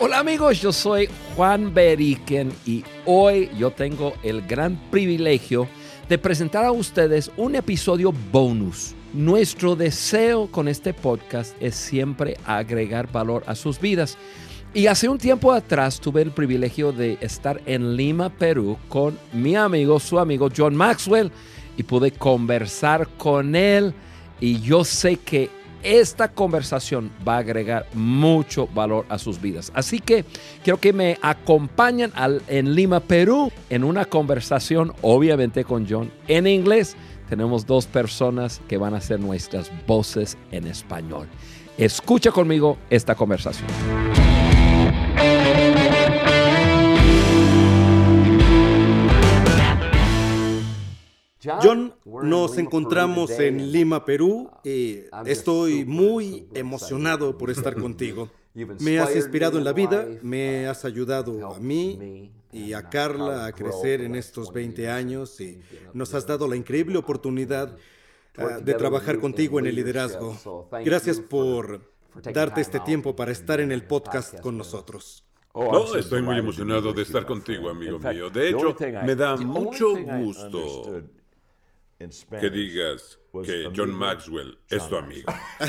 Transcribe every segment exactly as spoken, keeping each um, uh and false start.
Hola amigos, yo soy Juan Beriken y hoy yo tengo el gran privilegio de presentar a ustedes un episodio bonus. Nuestro deseo con este podcast es siempre agregar valor a sus vidas. Y hace un tiempo atrás tuve el privilegio de estar en Lima, Perú, con mi amigo, su amigo John Maxwell, y pude conversar con él. Y yo sé que esta conversación va a agregar mucho valor a sus vidas. Así que quiero que me acompañen al, en Lima, Perú, en una conversación, obviamente con John, en inglés. Tenemos dos personas que van a ser nuestras voces en español. Escucha conmigo esta conversación. John, nos encontramos en Lima, Perú, y estoy muy emocionado por estar contigo. Me has inspirado en la vida, me has ayudado a mí y a Carla a crecer en estos veinte años y nos has dado la increíble oportunidad uh, de trabajar contigo en el liderazgo. Gracias por darte este tiempo para estar en el podcast con nosotros. No, estoy muy emocionado de estar contigo, amigo mío. De hecho, me da mucho gusto que digas que John Maxwell es tu amigo.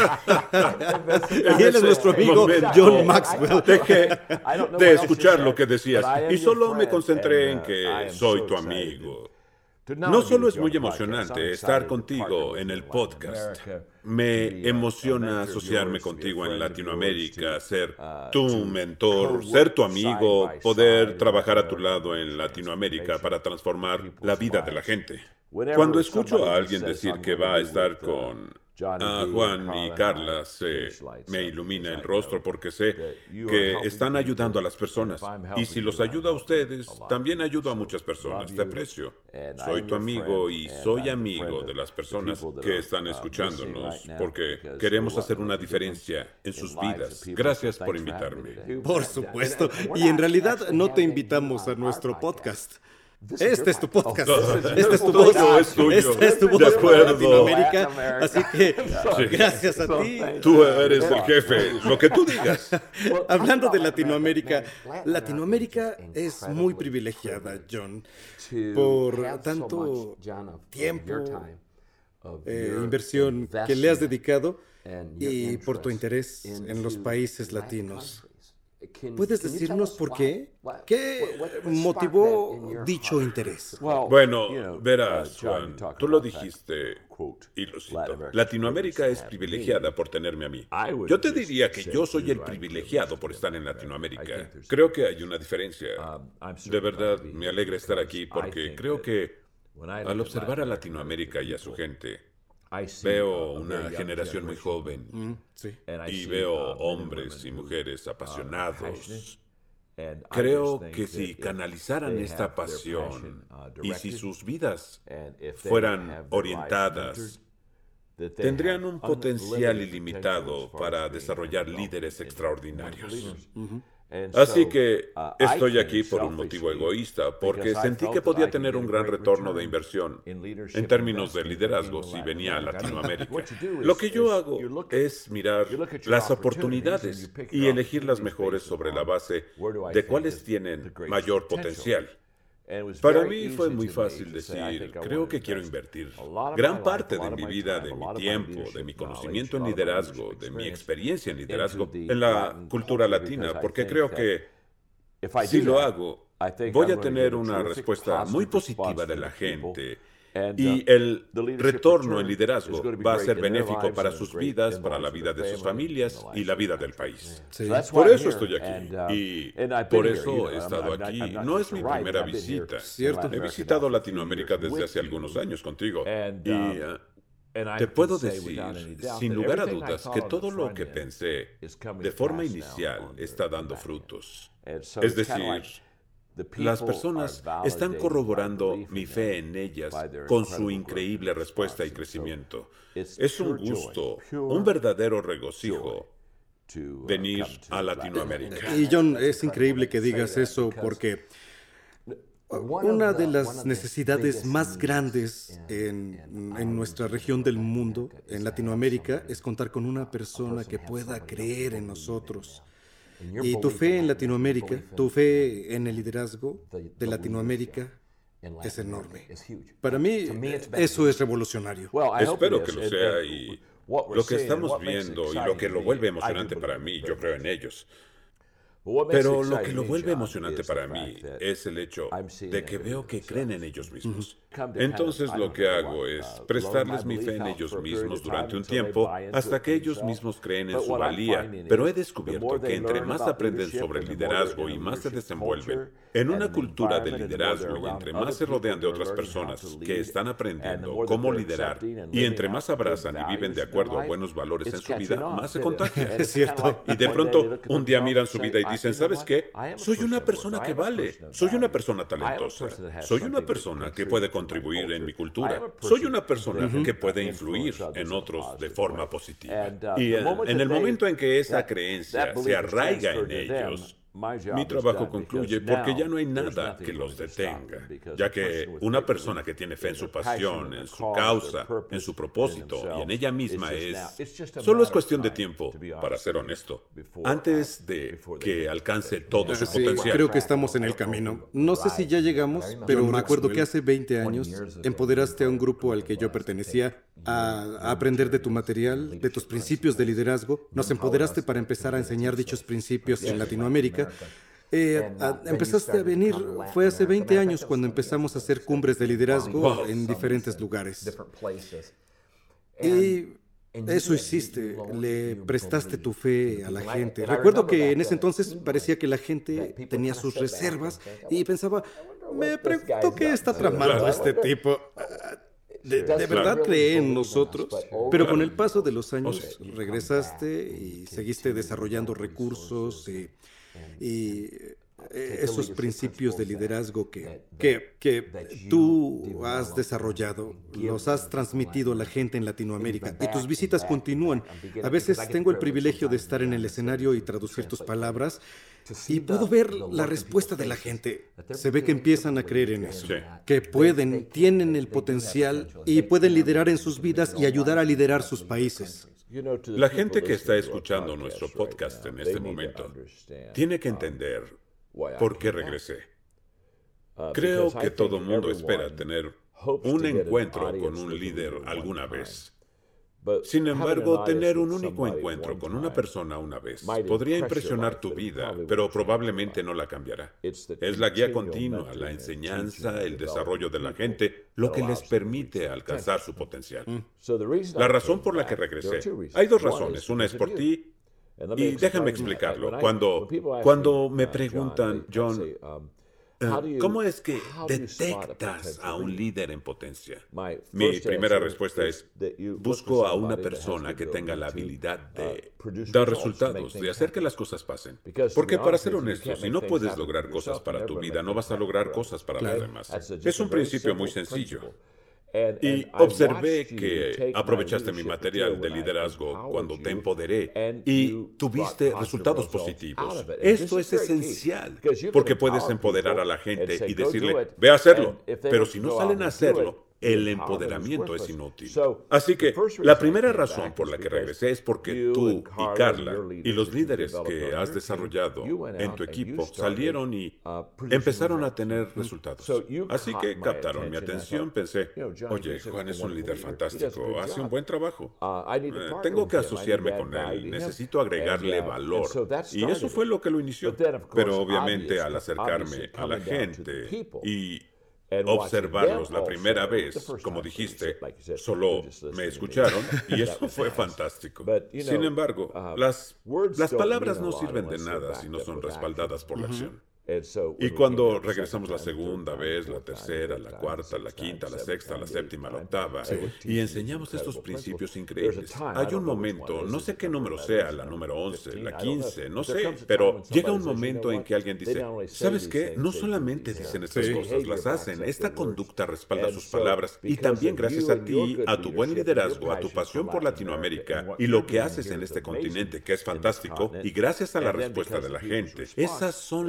Y él es nuestro amigo John Maxwell. Dejé de escuchar lo que decías y solo me concentré en que soy tu amigo. No solo es muy emocionante estar contigo en el podcast, me emociona asociarme contigo en Latinoamérica, ser tu mentor, ser tu amigo, poder trabajar a tu lado en Latinoamérica para transformar la vida de la gente. Cuando escucho a alguien decir que va a estar con a Juan y Carla, se me ilumina el rostro porque sé que están ayudando a las personas. Y si los ayudo a ustedes, también ayudo a muchas personas. Te aprecio. Soy tu amigo y soy amigo de las personas que están escuchándonos porque queremos hacer una diferencia en sus vidas. Gracias por invitarme. Por supuesto. Y en realidad no te invitamos a nuestro podcast. Este es tu podcast, esta es tu voz, esta es tu voz para Latinoamérica, así que Sí. gracias a ti. Tú eres el jefe, lo que tú digas. Hablando de Latinoamérica, Latinoamérica es muy privilegiada, John, por tanto tiempo, eh, inversión que le has dedicado y por tu interés en los países latinos. ¿Puedes decirnos por qué? ¿Qué motivó dicho interés? Bueno, verás, Juan, tú lo dijiste y lo cito. Latinoamérica es privilegiada por tenerme a mí. Yo te diría que yo soy el privilegiado por estar en Latinoamérica. Creo que hay una diferencia. De verdad, me alegra estar aquí porque creo que al observar a Latinoamérica y a su gente, veo una generación muy joven Mm, sí. y veo hombres y mujeres apasionados. Creo que si canalizaran esta pasión y si sus vidas fueran orientadas, tendrían un potencial ilimitado para desarrollar líderes extraordinarios. Así que estoy aquí por un motivo egoísta, porque sentí que podía tener un gran retorno de inversión en términos de liderazgo si venía a Latinoamérica. Lo que yo hago es mirar las oportunidades y elegir las mejores sobre la base de cuáles tienen mayor potencial. Para mí fue muy fácil decir, creo que quiero invertir gran parte de mi vida, de mi tiempo, de mi conocimiento en liderazgo, de mi experiencia en liderazgo, en la cultura latina, porque creo que si lo hago, voy a tener una respuesta muy positiva de la gente y el retorno en liderazgo va a ser benéfico para sus vidas, para la vida de sus familias y la vida del país. Sí. Por eso estoy aquí y por eso he estado aquí. No es mi primera visita. Cierto. He visitado Latinoamérica desde hace algunos años contigo y uh, te puedo decir, sin lugar a dudas, que todo lo que pensé de forma inicial está dando frutos. Es decir, las personas están corroborando mi fe en ellas con su increíble respuesta y crecimiento. Es un gusto, un verdadero regocijo venir a Latinoamérica. Y John, es increíble que digas eso porque una de las necesidades más grandes en, en nuestra región del mundo, en Latinoamérica, es contar con una persona que pueda creer en nosotros. Y tu fe en Latinoamérica, tu fe en el liderazgo de Latinoamérica es enorme. Para mí, eso es revolucionario. Espero que lo sea y lo que estamos viendo y lo que lo vuelve emocionante para mí, yo creo en ellos. Pero lo que lo vuelve emocionante para mí es el hecho de que veo que creen en ellos mismos. Entonces lo que hago es prestarles mi fe en ellos mismos durante un tiempo hasta que ellos mismos creen en su valía. Pero he descubierto que entre más aprenden sobre el liderazgo y más se desenvuelven en una cultura de liderazgo y entre más se rodean de otras personas que están aprendiendo cómo liderar y entre más abrazan y viven de acuerdo a buenos valores en su vida, más se contagian. Es cierto. Y de pronto un día miran su vida y dicen, ¿sabes qué? Soy una persona que vale, soy una persona talentosa, soy una persona que puede contribuir en mi cultura, soy una persona que puede influir en otros de forma positiva. Y en, en el momento en que esa creencia se arraiga en ellos, mi trabajo concluye porque ya no hay nada que los detenga, ya que una persona que tiene fe en su pasión, en su causa, en su propósito y en ella misma es... Solo es cuestión de tiempo, para ser honesto, antes de que alcance todo su Sí, potencial. creo que estamos en el camino. No sé si ya llegamos, pero recuerdo que hace veinte años empoderaste a un grupo al que yo pertenecía a, a aprender de tu material, de tus principios de liderazgo. Nos empoderaste para empezar a enseñar dichos principios en Latinoamérica. Eh, a, empezaste a venir, fue hace veinte años cuando empezamos a hacer cumbres de liderazgo en diferentes lugares. Y eso hiciste, le prestaste tu fe a la gente. Recuerdo que en ese entonces parecía que la gente tenía sus reservas y pensaba, me pregunto qué está tramando este tipo. De, de verdad creé en nosotros, pero con el paso de los años regresaste y seguiste desarrollando recursos y, y esos principios de liderazgo que, que, que tú has desarrollado, los has transmitido a la gente en Latinoamérica y tus visitas continúan. A veces tengo el privilegio de estar en el escenario y traducir tus palabras y puedo ver la respuesta de la gente. Se ve que empiezan a creer en eso, que pueden, tienen el potencial y pueden liderar en sus vidas y ayudar a liderar sus países. La gente que está escuchando nuestro podcast en este momento tiene que entender por qué regresé. Creo que todo mundo espera tener un encuentro con un líder alguna vez. Sin embargo, tener un único encuentro con una persona una vez podría impresionar tu vida, pero probablemente no la cambiará. Es la guía continua, la enseñanza, el desarrollo de la gente, lo que les permite alcanzar su potencial. La razón por la que regresé, hay dos razones. Una es por ti, y déjame explicarlo. Cuando, cuando me preguntan, John, ¿cómo es que detectas a un líder en potencia? Mi primera respuesta es, busco a una persona que tenga la habilidad de dar resultados, de hacer que las cosas pasen. Porque para ser honesto, si no puedes lograr cosas para tu vida, no vas a lograr cosas para los demás. Es un principio muy sencillo. Y observé que aprovechaste mi material de liderazgo cuando te empoderé y tuviste resultados positivos. Esto es esencial, porque puedes empoderar a la gente y decirle, ve a hacerlo, pero si no salen a hacerlo, el empoderamiento es inútil. Así que la primera razón por la que regresé es porque tú y Carla y los líderes que has desarrollado en tu equipo salieron y empezaron a tener resultados. Así que captaron mi atención. Pensé, oye, Juan es un líder fantástico, hace un buen trabajo. Eh, tengo que asociarme con él, necesito agregarle valor. Y eso fue lo que lo inició. Pero obviamente al acercarme a la gente y observarlos la primera vez, como dijiste, solo me escucharon y eso fue fantástico. Sin embargo, las, las palabras no sirven de nada si no son respaldadas por la acción. Y cuando regresamos la segunda vez, la tercera, la cuarta, la quinta, la sexta, la séptima, la octava, y enseñamos estos principios increíbles, hay un momento, no sé qué número sea, la número once, la quince, no sé, pero llega un momento en que alguien dice, ¿sabes qué? No solamente dicen estas cosas, las hacen. Esta conducta respalda sus palabras y también gracias a ti, a tu buen liderazgo, a tu pasión por Latinoamérica y lo que haces en este continente, que es fantástico, y gracias a la respuesta de la gente, esas son las tres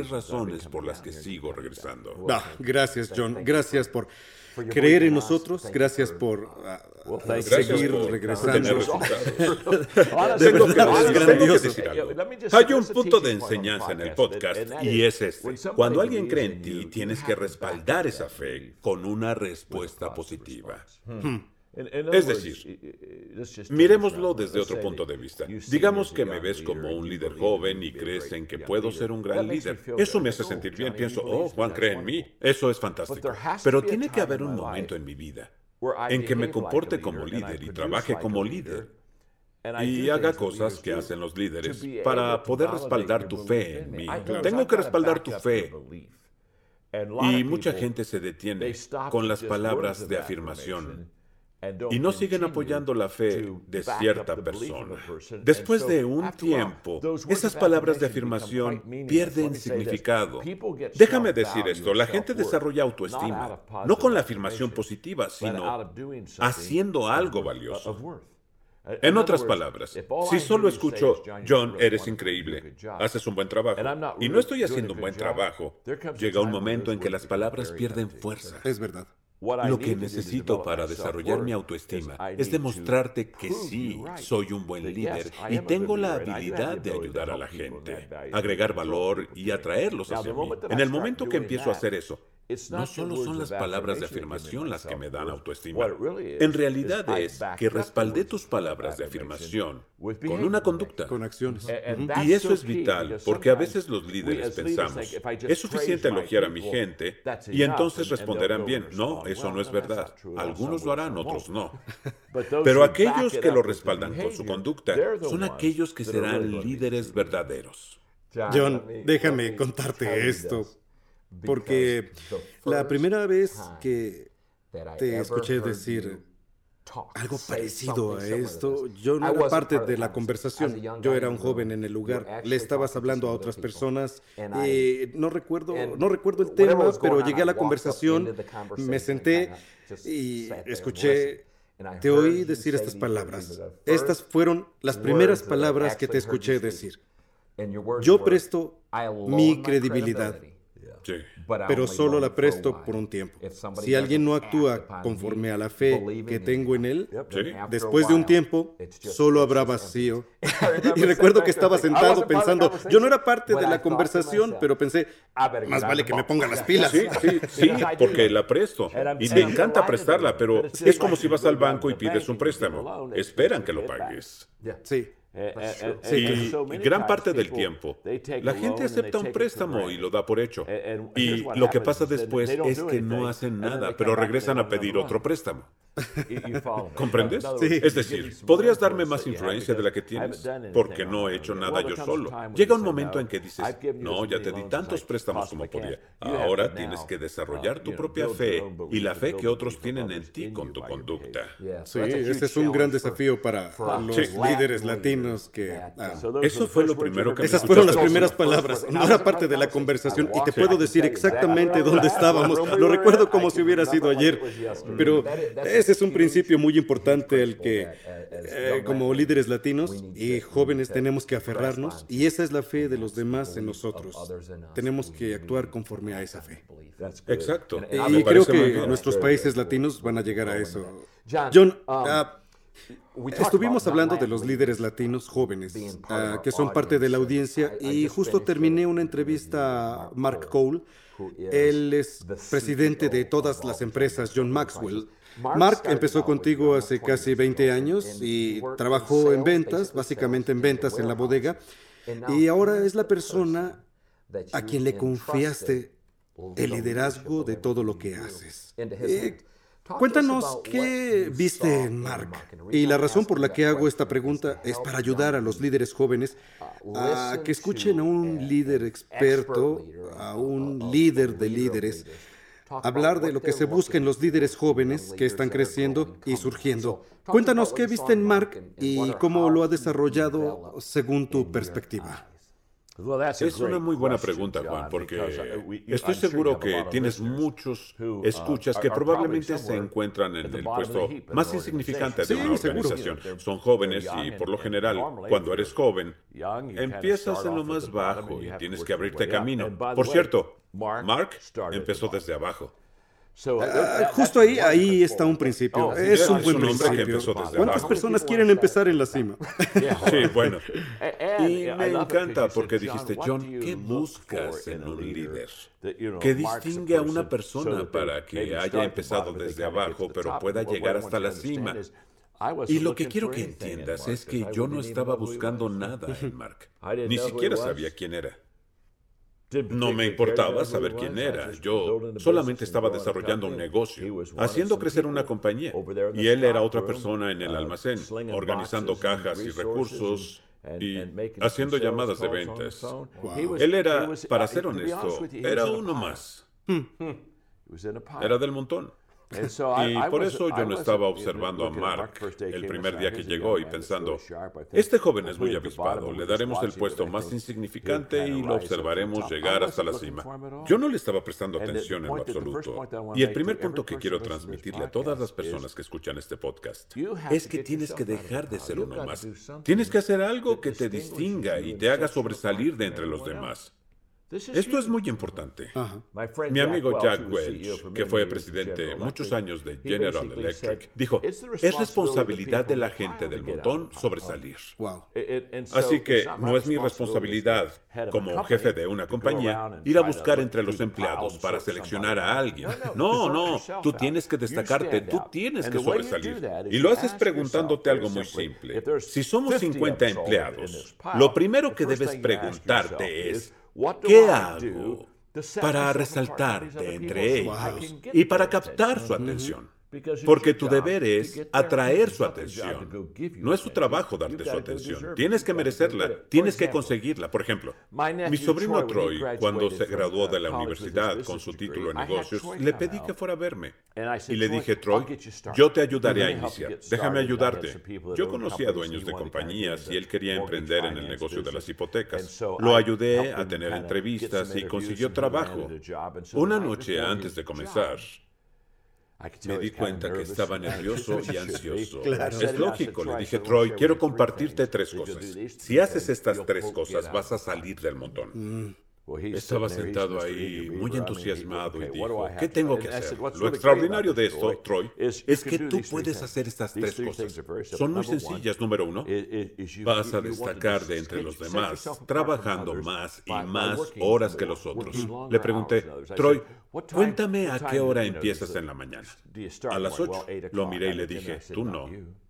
tres razones por las que sigo regresando. Ah, gracias, John. Gracias por creer en nosotros. Gracias por uh, Gracias seguir por regresando. tener resultados. De Tengo que verdad, es decir- tengo que grandioso. decir algo. Hay un punto de enseñanza en el podcast y es este. Cuando alguien cree en ti, tienes que respaldar esa fe con una respuesta positiva. Es decir, miremoslo desde otro punto de vista. Digamos que me ves como un líder joven y crees en que puedo ser un gran líder. Eso me hace sentir bien. Pienso, oh, Juan cree en mí. Eso es fantástico. Pero tiene que haber un momento en mi vida en que me comporte como líder y trabaje como líder y haga cosas que hacen los líderes para poder respaldar tu fe en mí. Tengo que respaldar tu fe. Y mucha gente se detiene con las palabras de afirmación y no siguen apoyando la fe de cierta persona. Después de un tiempo, esas palabras de afirmación pierden significado. Déjame decir esto, la gente desarrolla autoestima, no con la afirmación positiva, sino haciendo algo valioso. En otras palabras, si solo escucho, John, eres increíble, haces un buen trabajo, y no estoy haciendo un buen trabajo, llega un momento en que las palabras pierden fuerza. Es verdad. Lo que necesito para desarrollar mi autoestima es demostrarte que sí, soy un buen líder y tengo la habilidad de ayudar a la gente, agregar valor y atraerlos hacia mí. En el momento que empiezo a hacer eso, no solo son las palabras de afirmación las que me dan autoestima. En realidad es que respaldé tus palabras de afirmación con una conducta. Con acciones. Ujú. Y eso es vital, porque a veces los líderes pensamos, es suficiente elogiar a mi gente y entonces responderán bien. No, eso no es verdad. Algunos lo harán, otros no. Pero aquellos que lo respaldan con su conducta son aquellos que serán líderes verdaderos. John, déjame contarte esto. Porque la primera vez que te escuché decir algo parecido a esto, yo no era parte de la conversación. Yo era un joven en el lugar. Le estabas hablando a otras personas. Eh, no recuerdo, no recuerdo el tema, pero llegué a la conversación, me senté y escuché. Te oí decir estas palabras. Estas fueron las primeras palabras que te escuché decir. Yo presto mi credibilidad, Sí. pero solo la presto por un tiempo. Si alguien no actúa conforme a la fe que tengo en él, Sí. después de un tiempo, solo habrá vacío. Y recuerdo que estaba sentado pensando, yo no era parte de la conversación, pero pensé, más vale que me ponga las pilas. Sí, sí, sí, porque la presto. Y me encanta prestarla, pero es como si vas al banco y pides un préstamo. Esperan que lo pagues. Sí. Y gran parte del tiempo, la gente acepta un préstamo y lo da por hecho. Y lo que pasa después es que no hacen nada, pero regresan a pedir otro préstamo. ¿Comprendes? Sí. Es decir, podrías darme más influencia de la que tienes, porque no he hecho nada yo solo. Llega un momento en que dices, no, ya te di tantos préstamos como podía. Ahora tienes que desarrollar tu propia fe y la fe que otros tienen en ti con tu conducta. Sí, ese es un gran desafío para los Sí. líderes latinos que... ah, Eso fue lo primero que me esas fueron las escuchaste. primeras palabras. No era parte de la conversación y te puedo decir exactamente dónde estábamos. Lo recuerdo como si hubiera sido ayer. Pero ese es un principio muy importante al que eh, como líderes latinos y jóvenes tenemos que aferrarnos, y esa es la fe de los demás en nosotros. Tenemos que actuar conforme a esa fe. Exacto. Y Me creo parece muy que bien. nuestros países latinos van a llegar a eso. John, ah, estuvimos hablando de los líderes latinos jóvenes, ah, que son parte de la audiencia, y justo terminé una entrevista a Mark Cole. Él es presidente de todas las empresas John Maxwell. Mark empezó contigo hace casi veinte años y trabajó en ventas, básicamente en ventas en la bodega, y ahora es la persona a quien le confiaste el liderazgo de todo lo que haces. Eh, Cuéntanos qué viste en Mark. Y la razón por la que hago esta pregunta es para ayudar a los líderes jóvenes a que escuchen a un líder experto, a un líder de líderes, hablar de lo que se busca en los líderes jóvenes que están creciendo y surgiendo. Cuéntanos qué viste en Mark y cómo lo ha desarrollado según tu perspectiva. Es una muy buena pregunta, Juan, porque estoy seguro que tienes muchos escuchas que probablemente se encuentran en el puesto más insignificante de una organización. Son jóvenes y, por lo general, cuando eres joven, empiezas en lo más bajo y tienes que abrirte camino. Por cierto, Mark empezó desde abajo. Uh, justo ahí, ahí está un principio. Oh, es un es buen un hombre que principio. empezó desde ¿Cuántas abajo? personas quieren empezar en la cima? Sí, bueno. Y me encanta porque dijiste, John, ¿qué buscas en un líder? ¿Qué distingue a una persona para que haya empezado desde abajo, pero pueda llegar hasta la cima? Y lo que quiero que entiendas es que yo no estaba buscando nada en Mark. Ni siquiera sabía quién era. No me importaba saber quién era. Yo solamente estaba desarrollando un negocio, haciendo crecer una compañía. Y él era otra persona en el almacén, organizando cajas y recursos y haciendo llamadas de ventas. Wow. Él era, para ser honesto, era uno más. Era del montón. Y por eso yo no estaba observando a Mark el primer día que llegó y pensando, este joven es muy avispado, le daremos el puesto más insignificante y lo observaremos llegar hasta la cima. Yo no le estaba prestando atención en lo absoluto. Y el primer punto que quiero transmitirle a todas las personas que escuchan este podcast es que tienes que dejar de ser uno más. Tienes que hacer algo que te distinga y te haga sobresalir de entre los demás. Esto es muy importante. Ajá. Mi amigo Jack Welch, que fue presidente muchos años de General Electric, dijo, es responsabilidad de la gente del montón sobresalir. Wow. Así que no es mi responsabilidad como jefe de una compañía ir a buscar entre los empleados para seleccionar a alguien. No, no, tú tienes que destacarte, tú tienes que sobresalir. Y lo haces preguntándote algo muy simple. Si somos cincuenta empleados, lo primero que debes preguntarte es, ¿qué hago para resaltar de entre ellos y para captar su atención? Porque tu deber es atraer su atención. No es su trabajo darte su atención. Tienes que merecerla, tienes que conseguirla. Por ejemplo, mi sobrino Troy, cuando se graduó de la universidad con su título en negocios, le pedí que fuera a verme. Y le dije, Troy, yo te ayudaré a iniciar. Déjame ayudarte. Yo conocía a dueños de compañías y él quería emprender en el negocio de las hipotecas. Lo ayudé a tener entrevistas y consiguió trabajo. Una noche antes de comenzar, me di cuenta que estaba nervioso y ansioso. Claro. Es lógico, le dije, Troy, quiero compartirte tres cosas. Si haces estas tres cosas, vas a salir del montón. Estaba sentado ahí, muy entusiasmado, y dijo, ¿qué tengo que hacer? Lo extraordinario de esto, Troy, es que tú puedes hacer estas tres cosas. Son muy sencillas. Número uno, vas a destacar de entre los demás, trabajando más y más horas que los otros. Le pregunté, Troy, cuéntame a qué hora empiezas en la mañana. A las ocho. Lo miré y le dije, tú no.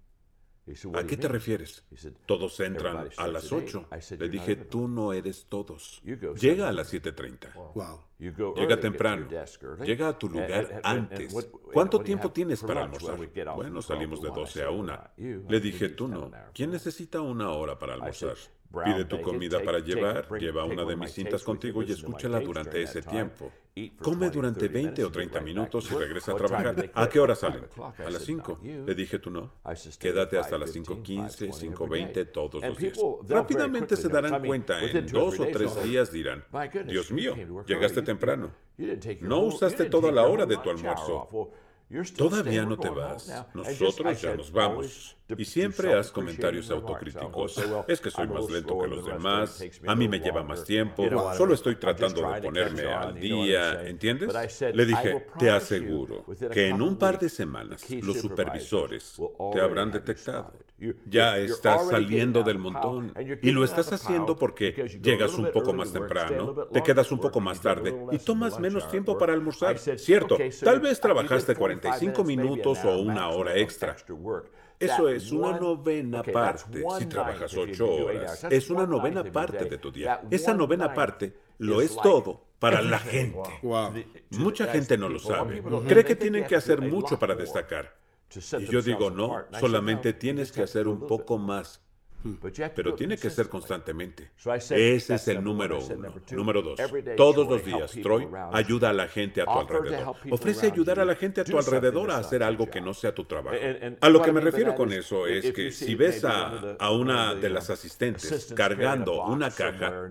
¿A qué te refieres? Todos entran a las ocho. Le dije, tú no eres todos. Llega a las siete treinta. Wow. Llega temprano. Llega a tu lugar antes. ¿Cuánto tiempo tienes para almorzar? Bueno, salimos de doce a una. Le dije, tú no. ¿Quién necesita una hora para almorzar? Pide tu comida para llevar, lleva una de mis cintas contigo y escúchala durante ese tiempo. Come durante veinte o treinta minutos y regresa a trabajar. ¿A qué hora salen? A las cinco. Le dije, tú no. Quédate hasta las cinco quince, cinco veinte todos los días. Rápidamente se darán cuenta, en dos o tres días dirán, Dios mío, llegaste temprano. No usaste toda la hora de tu almuerzo. Todavía no te vas. Nosotros ya nos vamos. Y siempre haz comentarios autocríticos. Es que soy más lento que los demás. A mí me lleva más tiempo. Solo estoy tratando de ponerme al día. ¿Entiendes? Le dije, te aseguro que en un par de semanas los supervisores te habrán detectado. Ya estás saliendo del montón. Y lo estás haciendo porque llegas un poco más temprano, te quedas un poco más tarde y tomas menos tiempo para almorzar. Cierto, tal vez trabajaste cuarenta y cinco minutos o una hora extra. Eso es una novena parte. Si trabajas ocho horas, es una novena parte de tu día. Esa novena parte lo es todo para la gente. Wow. Mucha gente no lo sabe. Cree que tienen que hacer mucho para destacar. Y yo digo, no, solamente tienes que hacer un poco más. Pero tiene que ser constantemente. Ese es el número uno. Número dos, todos los días, Troy, ayuda a la gente a tu alrededor. Ofrece ayudar a la gente a tu alrededor a hacer algo que no sea tu trabajo. A lo que me refiero con eso es que si ves a, a una de las asistentes cargando una caja,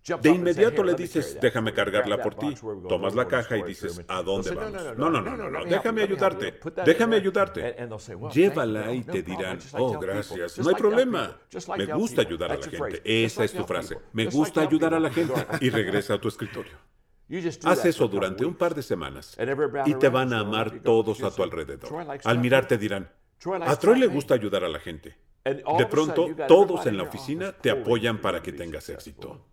De inmediato le dices, déjame cargarla por ti. Tomas la caja y dices, ¿a dónde vamos? No, no, no, no, no, déjame ayudarte. Déjame ayudarte. Llévala y te dirán, oh, gracias. No hay problema. Me gusta ayudar a la gente. Esa es tu frase. Me gusta ayudar a la gente. Y regresa a tu escritorio. Haz eso durante un par de semanas y te van a amar todos a tu alrededor. Al mirarte dirán, a Troy le gusta ayudar a la gente. De pronto, todos en la oficina te apoyan para que tengas éxito.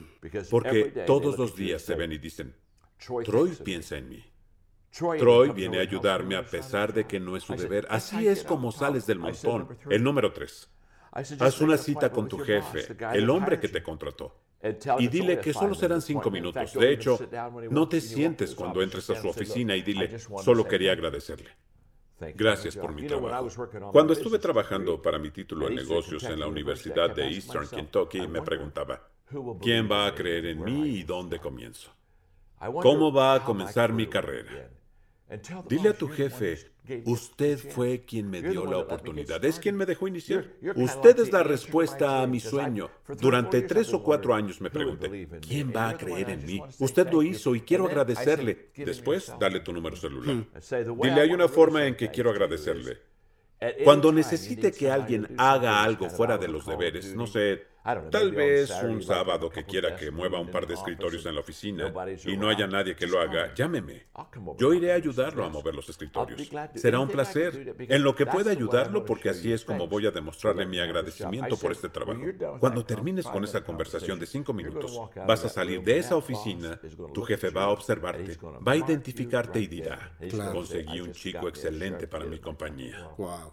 Porque todos los días se ven y dicen, Troy piensa en mí. Troy viene a ayudarme a pesar de que no es su deber. Así es como sales del montón. El número tres. Haz una cita con tu jefe, el hombre que te contrató. Y dile que solo serán cinco minutos. De hecho, no te sientes cuando entres a su oficina y dile, solo quería agradecerle. Gracias por mi trabajo. Cuando estuve trabajando para mi título en negocios en la Universidad de Eastern Kentucky, me preguntaba, ¿quién va a creer en mí y dónde comienzo? ¿Cómo va a comenzar mi carrera? Dile a tu jefe, usted fue quien me dio la oportunidad, es quien me dejó iniciar. Usted es la respuesta a mi sueño. Durante tres o cuatro años me pregunté, ¿quién va a creer en mí? Usted lo hizo y quiero agradecerle. Después, dale tu número celular. Dile, hay una forma en que quiero agradecerle. Cuando necesite que alguien haga algo fuera de los deberes, no sé, tal vez un sábado que quiera que mueva un par de escritorios en la oficina y no haya nadie que lo haga, llámeme. Yo iré a ayudarlo a mover los escritorios. Será un placer. En lo que pueda ayudarlo, porque así es como voy a demostrarle mi agradecimiento por este trabajo. Cuando termines con esa conversación de cinco minutos, vas a salir de esa oficina, tu jefe va a observarte, va a identificarte y dirá, conseguí un chico excelente para mi compañía. Wow.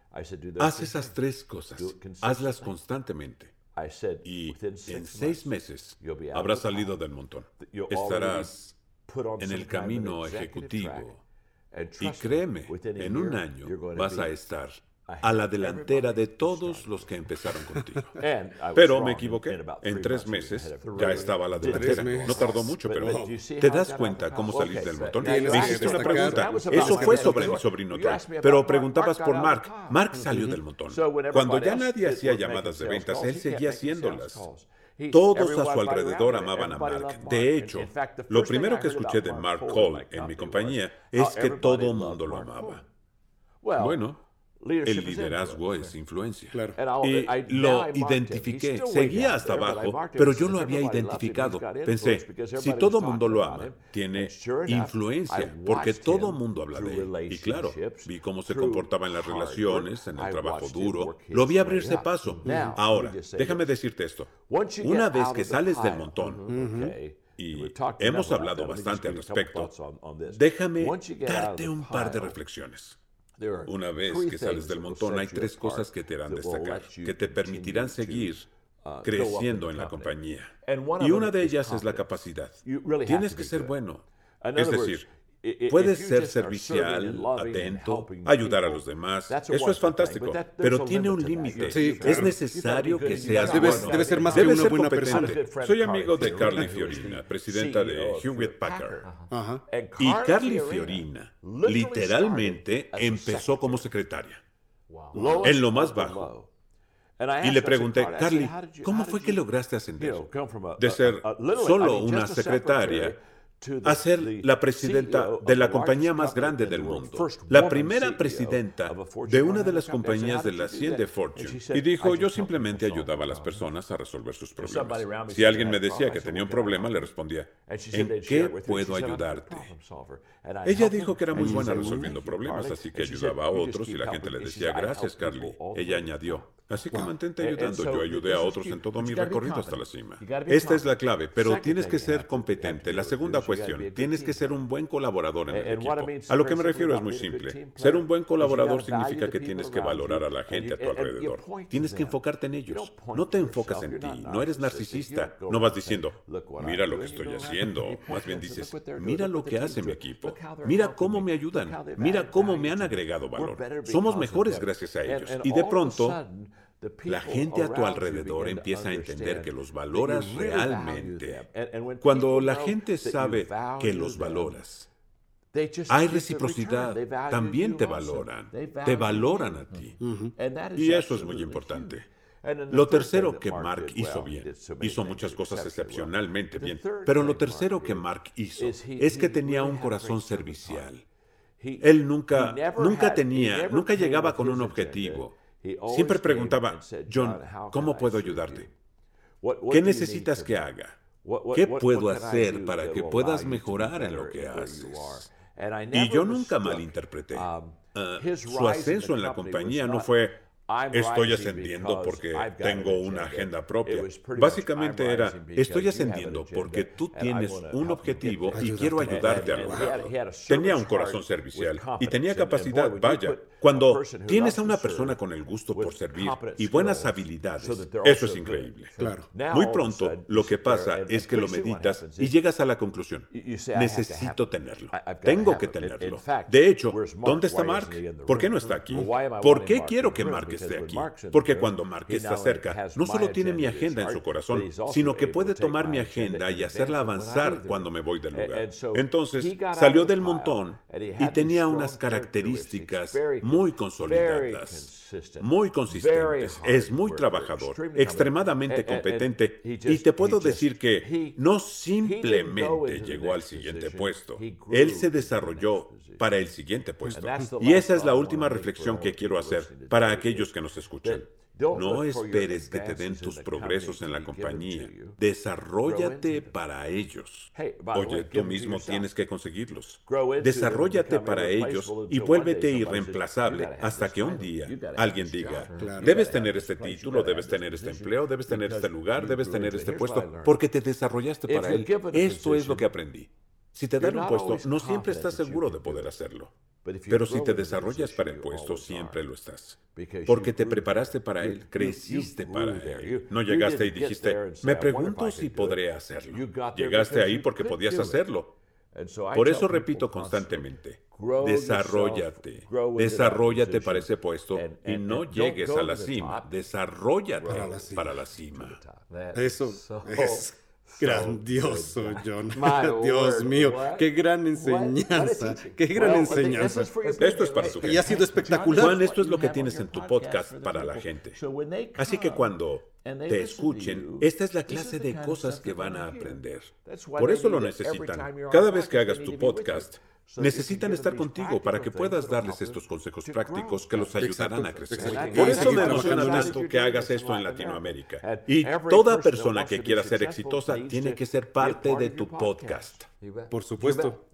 Haz esas tres cosas. Hazlas constantemente. Y en seis meses habrás salido del montón. Estarás en el camino ejecutivo. Y créeme, en un año vas a estar a la delantera de todos los que empezaron contigo. Pero me equivoqué. En tres meses ya estaba a la delantera. No tardó mucho, pero ¿te das cuenta cómo salir del montón? Me hiciste una pregunta. Eso fue sobre mi sobrino Troy. Pero preguntabas por Mark. Mark salió del montón. Cuando ya nadie hacía llamadas de ventas, él seguía haciéndolas. Todos a su alrededor amaban a Mark. De hecho, lo primero que escuché de Mark Cole en mi compañía es que todo el mundo lo amaba. Bueno, el liderazgo es influencia. Claro. Y lo identifiqué. Seguía hasta abajo, pero yo lo había identificado. Pensé, si todo mundo lo ama, tiene influencia, porque todo mundo habla de él. Y claro, vi cómo se comportaba en las relaciones, en el trabajo duro. Lo vi abrirse paso. Ahora, déjame decirte esto. Una vez que sales del montón, y hemos hablado bastante al respecto, déjame darte un par de reflexiones. Una vez que sales del montón, hay tres cosas que te harán destacar, que te permitirán seguir creciendo en la compañía. Y una de ellas es la capacidad. Tienes que ser bueno. Es decir, puedes ser servicial, atento, ayudar a los demás. Eso es fantástico, pero tiene un límite. Sí, claro. Es necesario que seas Debes, bueno. debes ser más Debes que una ser buena competente. persona. Soy amigo de Carly Fiorina, presidenta de Hewlett Packard. Ajá. Y Carly Fiorina literalmente empezó como secretaria, en lo más bajo. Y le pregunté, Carly, ¿cómo fue que lograste ascender de ser solo una secretaria a ser la presidenta de la compañía más grande del mundo, la primera presidenta de una de las compañías de las cien de Fortune? Y dijo, yo simplemente ayudaba a las personas a resolver sus problemas. Si alguien me decía que tenía un problema, le respondía, ¿en qué puedo ayudarte? Ella dijo que era muy buena resolviendo problemas, así que ayudaba a otros y la gente le decía, gracias, Carly. Ella añadió, así que mantente ayudando. Yo ayudé a otros en todo mi recorrido hasta la cima. Esta es la clave, pero tienes que ser competente. La segunda cuestión, tienes que ser un buen colaborador en el equipo. A lo que me refiero es muy simple. Ser un buen colaborador significa que tienes que valorar a la gente a tu alrededor. Tienes que enfocarte en ellos. No te enfocas en ti. No eres narcisista. No vas diciendo, mira lo que estoy haciendo. Más bien dices, mira lo que hace mi equipo. Mira cómo me ayudan. Mira cómo me han agregado valor. Somos mejores gracias a ellos. Y de pronto, la gente a tu alrededor empieza a entender que los valoras realmente. Cuando la gente sabe que los valoras, hay reciprocidad. También te valoran. Te valoran a ti. Y eso es muy importante. Lo tercero que Mark hizo bien, hizo muchas cosas excepcionalmente bien, pero lo tercero que Mark hizo es que tenía un corazón servicial. Él nunca, nunca tenía, nunca llegaba con un objetivo. Siempre preguntaba, John, ¿cómo puedo ayudarte? ¿Qué necesitas que haga? ¿Qué puedo hacer para que puedas mejorar en lo que haces? Y yo nunca malinterpreté. Uh, su ascenso en la compañía no fue, estoy ascendiendo porque tengo una agenda propia. Básicamente era, estoy ascendiendo porque tú tienes un objetivo y quiero ayudarte a lograrlo. Tenía un corazón servicial y tenía capacidad. Vaya, cuando tienes a una persona con el gusto por servir y buenas habilidades, eso es increíble. Claro. Muy pronto, lo que pasa es que lo meditas y llegas a la conclusión. Necesito tenerlo. Tengo que tenerlo. De hecho, ¿dónde está Mark? ¿Por qué no está aquí? ¿Por qué quiero que Mark esté aquí? Porque cuando Mark está cerca, no solo tiene mi agenda en su corazón, sino que puede tomar mi agenda y hacerla avanzar cuando me voy del lugar. Entonces, salió del montón y tenía unas características muy consolidadas, muy consistentes. Es muy trabajador, extremadamente competente, y te puedo decir que no simplemente llegó al siguiente puesto. Él se desarrolló para el siguiente puesto. Y esa es la última reflexión que quiero hacer para aquellos que nos escuchan. No esperes que te den tus progresos en la compañía. Desarróllate para ellos. Oye, tú mismo tienes que conseguirlos. Desarróllate para ellos y vuélvete irreemplazable hasta que un día alguien diga, debes tener este título, debes tener este empleo, debes tener este lugar, debes tener este puesto, porque te desarrollaste para él. Esto es lo que aprendí. Si te dan un puesto, no siempre estás seguro de poder hacerlo. Pero si te desarrollas para el puesto, siempre lo estás. Porque te preparaste para él, creciste para él. No llegaste y dijiste, me pregunto si podré hacerlo. Llegaste ahí porque podías hacerlo. Por eso repito constantemente, desarróllate, desarróllate para ese puesto y no llegues a la cima, desarróllate para la cima. Eso es grandioso, John. Dios mío, qué gran enseñanza, qué gran enseñanza. Esto es para tu gente. Y ha sido espectacular. Juan, esto es lo que tienes en tu podcast para la gente. Así que cuando te escuchen, esta es la clase de cosas que van a aprender. Por eso lo necesitan. Cada vez que hagas tu podcast, necesitan estar contigo para que puedas darles estos consejos prácticos que los ayudarán a crecer. Por eso me emociona tanto que hagas esto en Latinoamérica. Y toda persona que quiera ser exitosa tiene que ser parte de tu podcast. Por supuesto.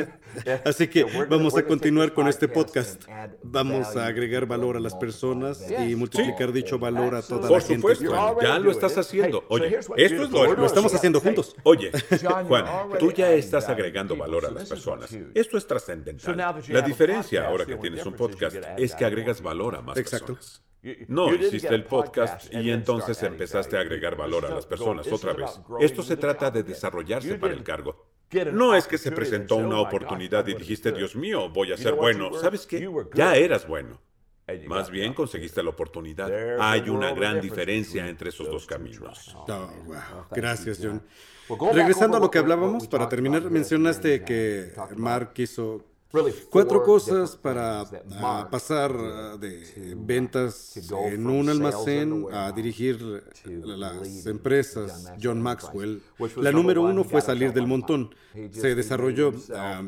Así que vamos a continuar con este podcast. Vamos a agregar valor a las personas y multiplicar sí. dicho valor a toda Por la gente. Por supuesto, ya lo estás haciendo. Oye, esto es lo, lo estamos haciendo juntos. Oye, Juan, tú ya estás agregando valor a las personas. Esto es trascendental. La diferencia ahora que tienes un podcast es que agregas valor a más Exacto. personas. No hiciste el podcast y entonces empezaste a agregar valor a las personas otra vez. Esto se trata de desarrollarse para el cargo. No es que se presentó una oportunidad y dijiste, Dios mío, voy a ser bueno. ¿Sabes qué? Ya eras bueno. Más bien conseguiste la oportunidad. Hay una gran diferencia entre esos dos caminos. Oh, wow. Gracias, John. Regresando a lo que hablábamos, para terminar, mencionaste que Mark hizo cuatro cosas para uh, pasar uh, de ventas en un almacén a dirigir las empresas John Maxwell. La número uno fue salir del montón. Se desarrolló uh,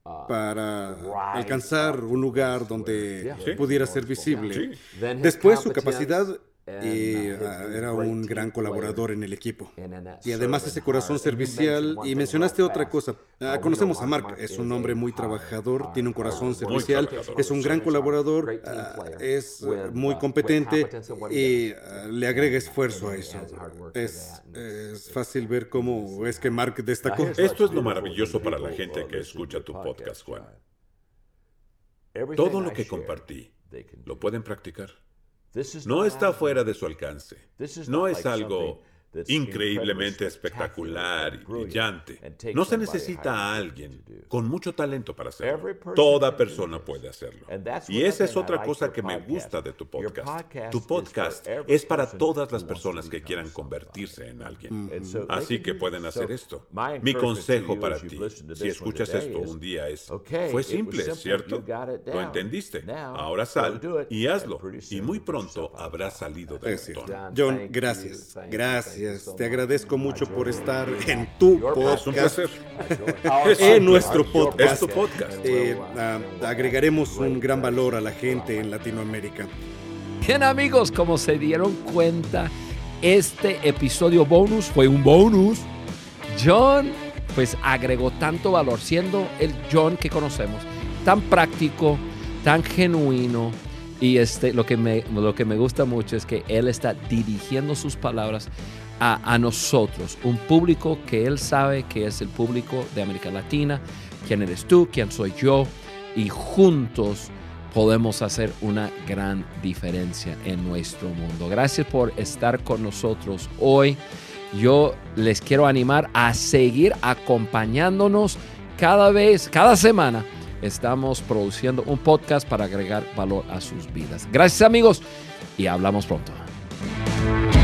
para alcanzar un lugar donde ¿Sí? pudiera ser visible. Sí. Después su capacidad y uh, era un gran colaborador en el equipo. Y además ese corazón servicial. Y mencionaste otra cosa. Uh, conocemos a Mark. Es un hombre muy trabajador, tiene un corazón servicial, es un gran colaborador, uh, es uh, muy competente y uh, le agrega esfuerzo a eso. Es, es fácil ver cómo es que Mark destacó. Esto es lo maravilloso para la gente que escucha tu podcast, Juan. Todo lo que compartí, lo pueden practicar. No está fuera de su alcance. No es algo increíblemente espectacular y brillante. No se necesita a alguien con mucho talento para hacerlo. Toda persona puede hacerlo. Y esa es otra cosa que me gusta de tu podcast. Tu podcast es para todas las personas que quieran convertirse en alguien. Así que pueden hacer esto. Mi consejo para ti, si escuchas esto un día, es: fue simple, ¿cierto? Lo entendiste. Ahora sal y hazlo. Y muy pronto habrás salido del montón. John, gracias. Gracias. Te agradezco mucho por estar en tu podcast. Es un placer. En nuestro podcast. Es tu podcast. Eh, uh, agregaremos un gran valor a la gente en Latinoamérica. Bien, amigos, como se dieron cuenta, este episodio bonus fue un bonus. John pues agregó tanto valor, siendo el John que conocemos, tan práctico, tan genuino. Y este, lo, que me, lo que me gusta mucho es que él está dirigiendo sus palabras a, a nosotros, un público que él sabe que es el público de América Latina. ¿Quién eres tú? ¿Quién soy yo? Y juntos podemos hacer una gran diferencia en nuestro mundo. Gracias por estar con nosotros hoy. Yo les quiero animar a seguir acompañándonos cada vez, cada semana. Estamos produciendo un podcast para agregar valor a sus vidas. Gracias, amigos, y hablamos pronto.